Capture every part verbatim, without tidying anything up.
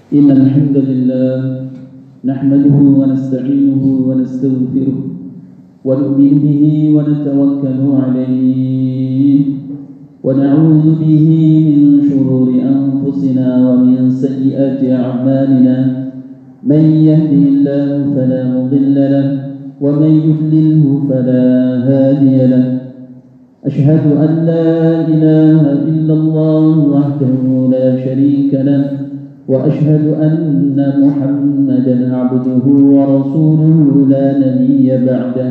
إن الحمد لله نحمده ونستعينه ونستغفره ونؤمن به ونتوكل عليه ونعوذ به من شرور أنفسنا ومن سيئات أعمالنا من يهده الله فلا مضل له ومن يضلله فلا هادي له أشهد أن لا إله إلا الله وحده لا شريك له وأشهد أن محمدا عبده ورسوله لا نبي بعده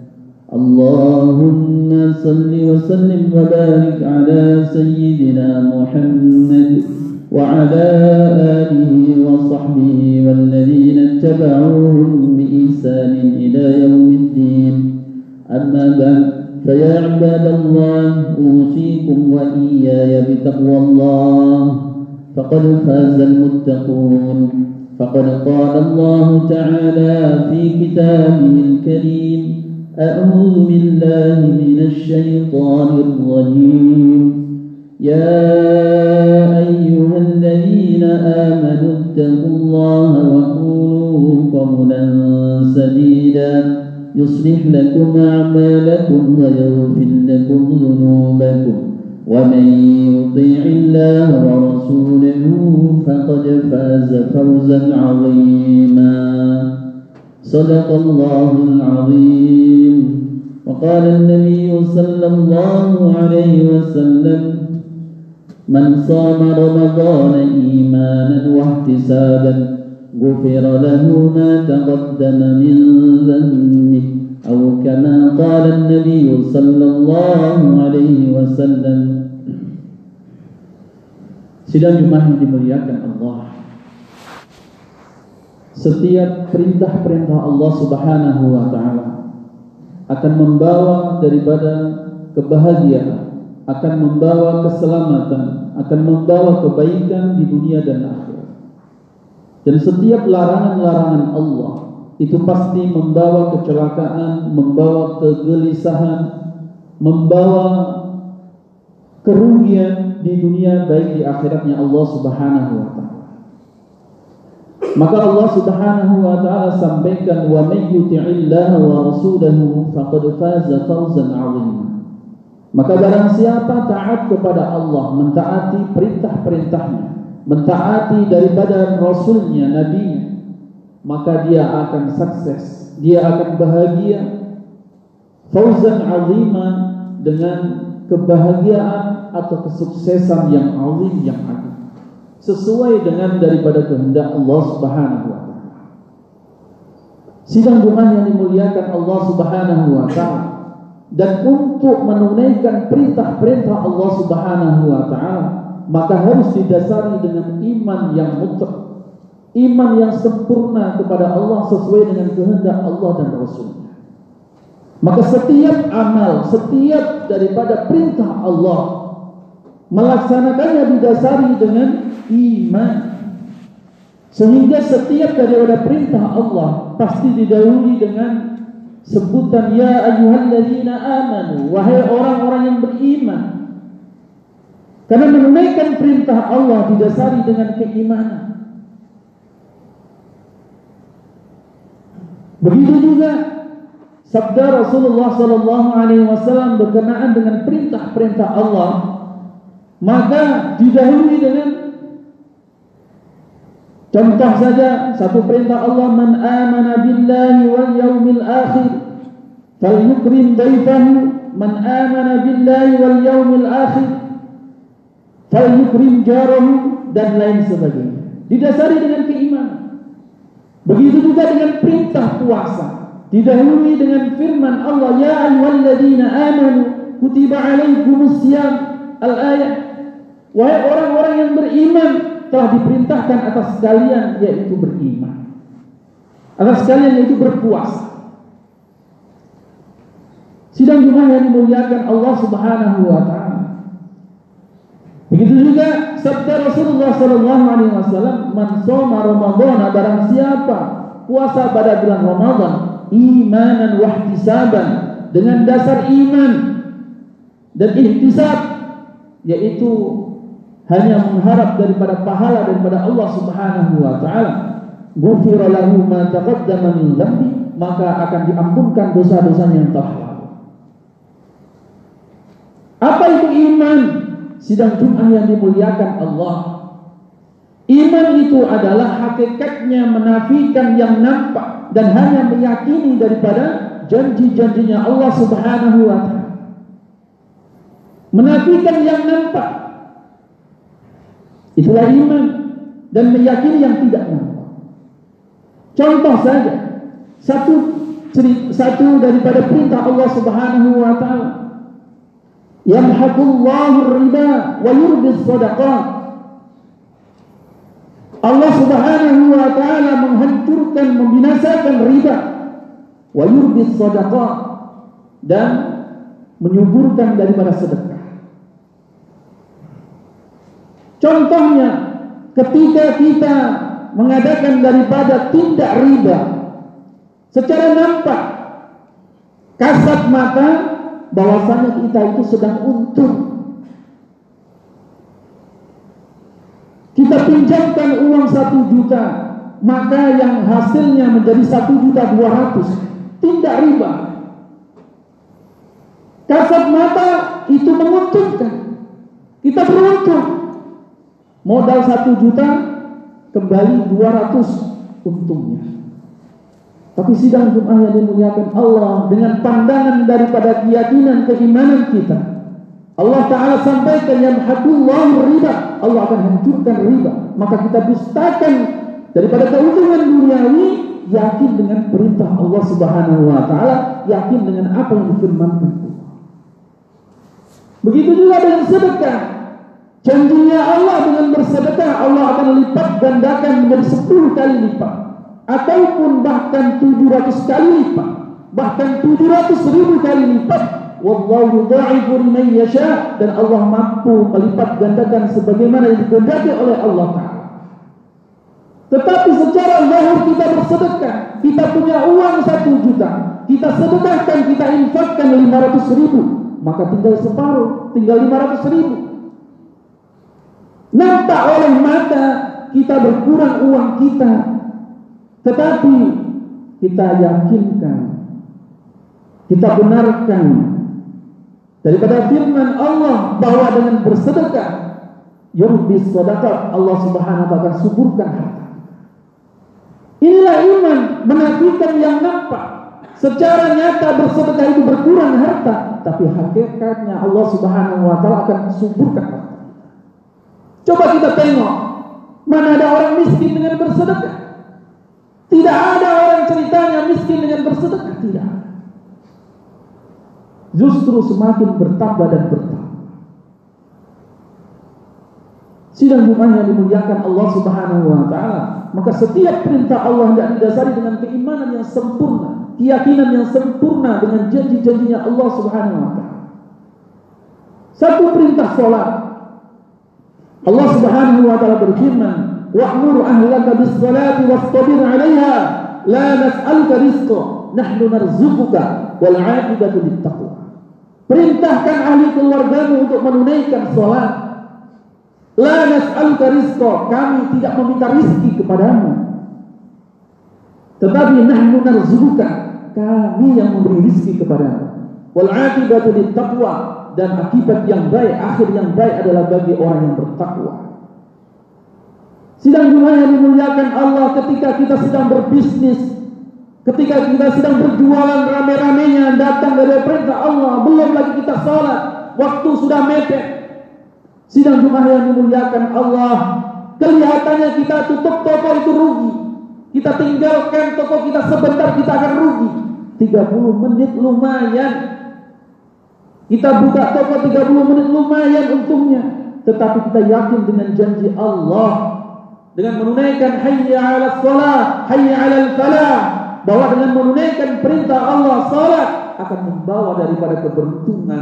اللهم صل وسلم وبارك على سيدنا محمد وعلى آله وصحبه والذين اتبعوهم بإحسان إلى يوم الدين أما بعد فيا عباد الله أوصيكم وإياي بتقوى الله فقد فاز المتقون فقد قال الله تعالى في كتابه الكريم أعوذ بالله من الشيطان الرجيم يا أيها الذين آمنوا اتقوا الله وقولوا قولا سديدا يصلح لكم أعمالكم ويغفر لكم ذنوبكم ومن يطيع الله ورسوله فقد فاز فوزا عظيما صدق الله العظيم وقال النبي صلى الله عليه وسلم من صام رمضان إيمانا واحتسابا غفر له ما تقدم من ذنبه أو كما قال النبي صلى الله عليه وسلم. Sidang Jumat yang dimuliakan Allah, setiap perintah-perintah Allah Subhanahu wa taala akan membawa daripada kebahagiaan, akan membawa keselamatan, akan membawa kebaikan di dunia dan akhirat. Dan setiap larangan-larangan Allah itu pasti membawa kecelakaan, membawa kegelisahan, membawa kerugian di dunia baik di akhiratnya Allah Subhanahu wa taala. Maka Allah Subhanahu wa taala sampaikan wa may yuti'illaha wa rasulahu faqad faza fawzan 'azima. Maka barang siapa taat kepada Allah, mentaati perintah-perintahnya, mentaati daripada rasulnya, nabinya, maka dia akan sukses, dia akan bahagia, fauzan 'azima, dengan kebahagiaan atau kesuksesan yang azim, yang agung, sesuai dengan daripada kehendak Allah Subhanahu wa taala. Sidang Jumat yang dimuliakan Allah Subhanahu wa taala, dan untuk menunaikan perintah-perintah Allah Subhanahu wa taala, maka harus didasari dengan iman yang mutlak, iman yang sempurna kepada Allah sesuai dengan kehendak Allah dan Rasul. Maka setiap amal, setiap daripada perintah Allah, melaksanakannya didasari dengan iman. Sehingga setiap daripada perintah Allah pasti didahului dengan sebutan ya ayyuhalladzina amanu, wahai orang-orang yang beriman. Karena menunaikan perintah Allah didasari dengan keimanan. Begitu juga sabda Rasulullah sallallahu alaihi wasallam berkenaan dengan perintah-perintah Allah, maka didahului dengan contoh saja satu perintah Allah, man amana billahi wal yaumil akhir falyukrim dayfahu, man amana billahi wal yaumil akhir falyukrim jarahu, dan lain sebagainya. Didasari dengan keimanan. Begitu juga dengan perintah puasa, didahului dengan firman Allah, ya ayyuhalladzina amanu kutiba alaikumus syiyam, al-ayat, wahai orang-orang yang beriman, telah diperintahkan atas kalian yaitu beriman, atas kalian yaitu berpuasa. Sidang Jumat yang dimuliakan Allah Subhanahu wa taala. Begitu juga sabda Rasulullah sallallahu alaihi wasallam, man shoma ramadhana, barang siapa puasa pada bulan Ramadan imanan wa ihtisaban, dengan dasar iman dan ihtisab, yaitu hanya mengharap daripada pahala daripada Allah Subhanahu wa taala, ghufira lahu ma taqaddama min dhanbi, maka akan diampunkan dosa-dosanya yang telah lalu. Apa itu iman? Sidang Jumat yang dimuliakan Allah. Iman itu adalah hakikatnya menafikan yang nampak dan hanya meyakini daripada janji-janjinya Allah Subhanahu wa taala. Menafikan yang nampak, itulah iman, dan meyakini yang tidak nampak. Contoh saja, satu satu daripada perintah Allah Subhanahu wa taala, yamhaqullahu riba wa yurbis shadaqat. Allah Subhanahu wa taala menghancurkan, membinasakan riba, wa yurbis shadaqat, dan menyuburkan daripada sedekah. Contohnya, ketika kita mengadakan daripada tindak riba secara nampak, kasat mata, bahwasanya kita itu sedang untung. Kita pinjamkan uang satu juta, maka yang hasilnya menjadi satu juta dua ratus, tindak riba. Kasat mata itu menguntungkan, kita beruntung. Modal satu juta, kembali dua ratus untungnya. Tapi sidang Jumat yang dimuliakan Allah, dengan pandangan daripada keyakinan keimanan kita, Allah Ta'ala sampaikan yamhaqullahu riba, Allah akan hancurkan riba. Maka kita dustakan daripada keuntungan duniawi, yakin dengan perintah Allah Subhanahu wa taala, yakin dengan apa yang difirmankan Allah. Begitu juga dengan sedekah. Janjinya Allah dengan bersedekah, Allah akan lipat gandakan menjadi sepuluh kali lipat, ataupun bahkan tujuh ratus kali lipat, bahkan tujuh ratus ribu kali lipat. Wallahu yudha'ifu liman yasha, dan Allah mampu melipat gandakan sebagaimana yang dikehendaki oleh Allah Ta'ala. Tetapi secara zahir kita bersedekah, kita punya uang satu juta, kita sedekahkan, kita infakkan lima ratus ribu, maka tinggal separuh, tinggal lima ratus ribu. Nampak oleh mata kita berkurang uang kita, tetapi kita yakinkan, kita benarkan daripada firman Allah bahwa dengan bersedekah yurbis shadaqat, Allah Subhanahu wa taala akan suburkan harta. Inilah iman, menafikan yang nampak. Secara nyata bersedekah itu berkurang harta, tapi hakikatnya Allah Subhanahu wa taala akan suburkan harta. Coba kita tengok, mana ada orang miskin dengan bersedekah? Tidak ada orang ceritanya miskin dengan bersedekah, tidak. Justru semakin bertambah dan bertambah. Sidang Jumat yang dimuliakan Allah Subhanahu wa taala, maka setiap perintah Allah yang didasari dengan keimanan yang sempurna, keyakinan yang sempurna dengan janji-janjinya Allah Subhanahu wa taala. Satu perintah salat, Allah Subhanahu wa taala berfirman, wa'mur ahlaka bis-salati wastabir 'alaiha la nas'aluka rizqa nahnu narzuquka wal 'aqibatu lit-taqwa. Perintahkan ahli keluargamu untuk menunaikan salat. La nas'aluka rizqa, kami tidak meminta rizki kepadamu, tetapi nahnu narzuquka, kami yang memberi rizki kepadamu. Wal 'aqibatu lit-taqwa, dan akibat yang baik, akhir yang baik adalah bagi orang yang bertakwa. Sidang Jumat yang dimuliakan Allah, ketika kita sedang berbisnis, ketika kita sedang berjualan rame-ramenya datang dari perintah Allah, belum lagi kita salat, waktu sudah mepet. Sidang Jumat yang dimuliakan Allah, kelihatannya kita tutup toko itu rugi, kita tinggalkan toko kita sebentar, kita akan rugi. tiga puluh menit lumayan. Kita buka toko tiga puluh menit lumayan untungnya, tetapi kita yakin dengan janji Allah, dengan menunaikan hayya 'alas shalah, hayya 'alal falah, bahwa dengan menunaikan perintah Allah, salat akan membawa daripada keberuntungan.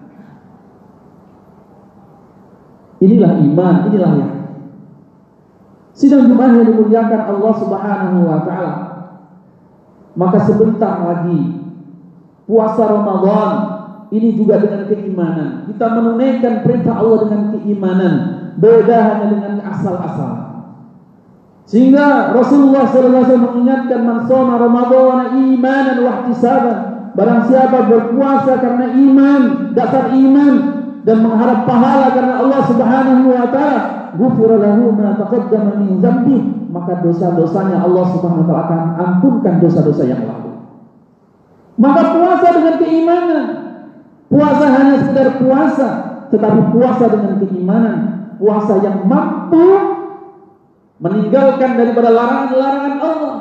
Inilah iman, inilah yang sidang Jumat yang dimuliakan Allah Subhanahu wa taala. Maka sebentar lagi puasa Ramadan, ini juga dengan keimanan. Kita menunaikan perintah Allah dengan keimanan, beda hanya dengan asal-asal. Sehingga Rasulullah sallallahu alaihi wasallam mengingatkan, man shoma Ramadhana imanan wa ihtisaban, barang siapa berpuasa karena iman, dasar iman, dan mengharap pahala karena Allah Subhanahu wa taala, ghufira lahu ma taqaddama min dzambi, maka dosa-dosanya Allah Subhanahu wa taala akan ampunkan dosa-dosa yang lalu. Maka puasa dengan keimanan, puasa hanya sekedar puasa, tetapi puasa dengan keimanan, puasa yang mampu meninggalkan daripada larangan-larangan Allah.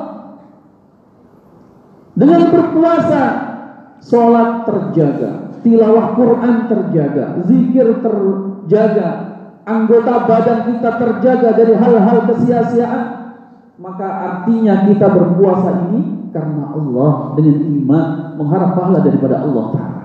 Dengan berpuasa, sholat terjaga, tilawah Quran terjaga, zikir terjaga, anggota badan kita terjaga dari hal-hal kesia-siaan. Maka artinya kita berpuasa ini karena Allah, dengan iman, mengharap pahala daripada Allah Ta'ala.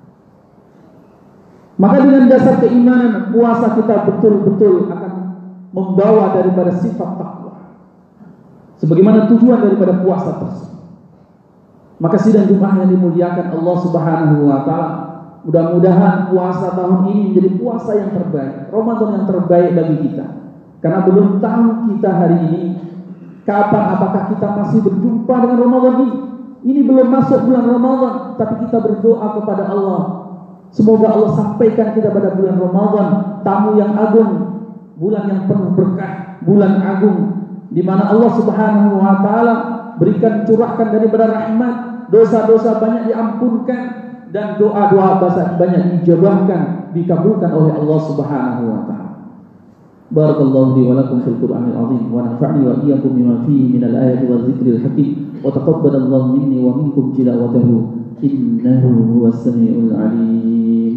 Maka dengan dasar keimanan, puasa kita betul-betul akan membawa daripada sifat takwa, sebagaimana tujuan daripada puasa tersebut. Maka sidang Jumat yang dimuliakan Allah Subhanahu wa taala, mudah-mudahan puasa tahun ini menjadi puasa yang terbaik, Ramadan yang terbaik bagi kita. Karena belum tahu kita hari ini kapan, apakah kita masih berjumpa dengan Ramadan ini. Ini belum masuk bulan Ramadan, tapi kita berdoa kepada Allah, semoga Allah sampaikan kita pada bulan Ramadan, tamu yang agung, bulan yang penuh berkah, bulan agung, di mana Allah Subhanahu wa taala berikan, curahkan daripada rahmat, dosa-dosa banyak diampunkan, dan doa-doa banyak dijabahkan, dikabulkan oleh Allah Subhanahu wa taala. Barakallahu li wa lakum fil Qur'anil azim, wa nafa'ni wa iyyakum bima fihi minal ayati waz zikril hakim, wa taqabbalallahu minni wa minkum tilawatahu, innahu huwas samiul alim.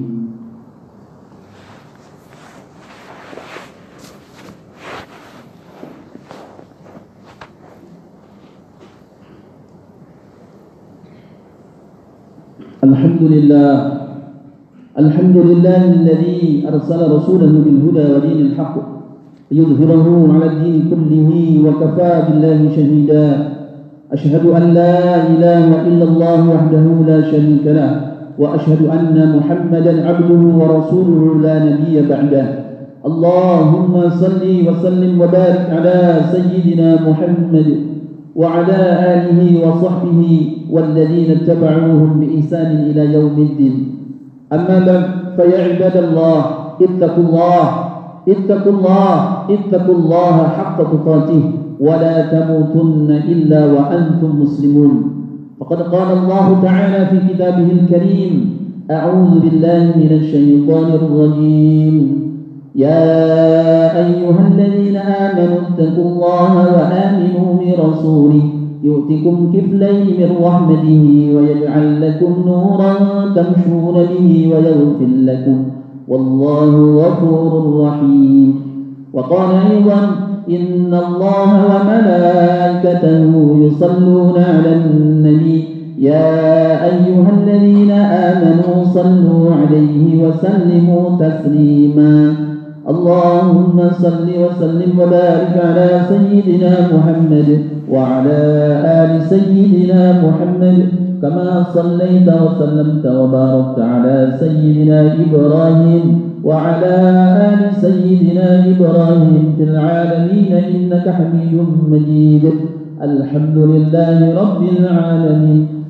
الحمد لله الحمد لله الذي أرسل رسوله بالهدى ودين الحق ليظهره على الدين كله وكفى بالله شهيدا. أشهد أن لا إله إلا الله وحده لا شريك له، وأشهد أن محمدا عبده ورسوله لا نبي بعده. اللهم صل وسلم وبارك على سيدنا محمد وعلى آله وصحبه والذين اتبعوهم بإحسان إلى يوم الدين. أما بعد، فيا عباد الله، اتقوا الله اتقوا الله اتقوا الله حق تقاته، ولا تموتن إلا وأنتم مسلمون. فقد قال الله تعالى في كتابه الكريم: أعوذ بالله من الشيطان الرجيم، يا أيها الذين آمنوا اتقوا الله وآمنوا برسوله يؤتكم كفلين من رحمته ويجعل لكم نورا تمشون به ويغفر لكم والله غفور رحيم. وقال أيضا: إن الله وملائكته يصلون على النبي يا أيها الذين آمنوا صلوا عليه وسلموا تسليما. اللهم صل وسلم وبارك على سيدنا محمد وعلى آل سيدنا محمد كما صليت وسلمت وباركت على سيدنا إبراهيم وعلى آل سيدنا إبراهيم في العالمين إنك حميد مجيد. الحمد لله رب العالمين،